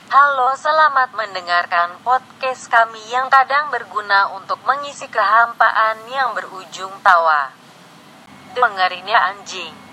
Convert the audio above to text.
Halo, selamat mendengarkan podcast kami yang kadang berguna untuk mengisi kehampaan yang berujung tawa. Dengerinnya anjing.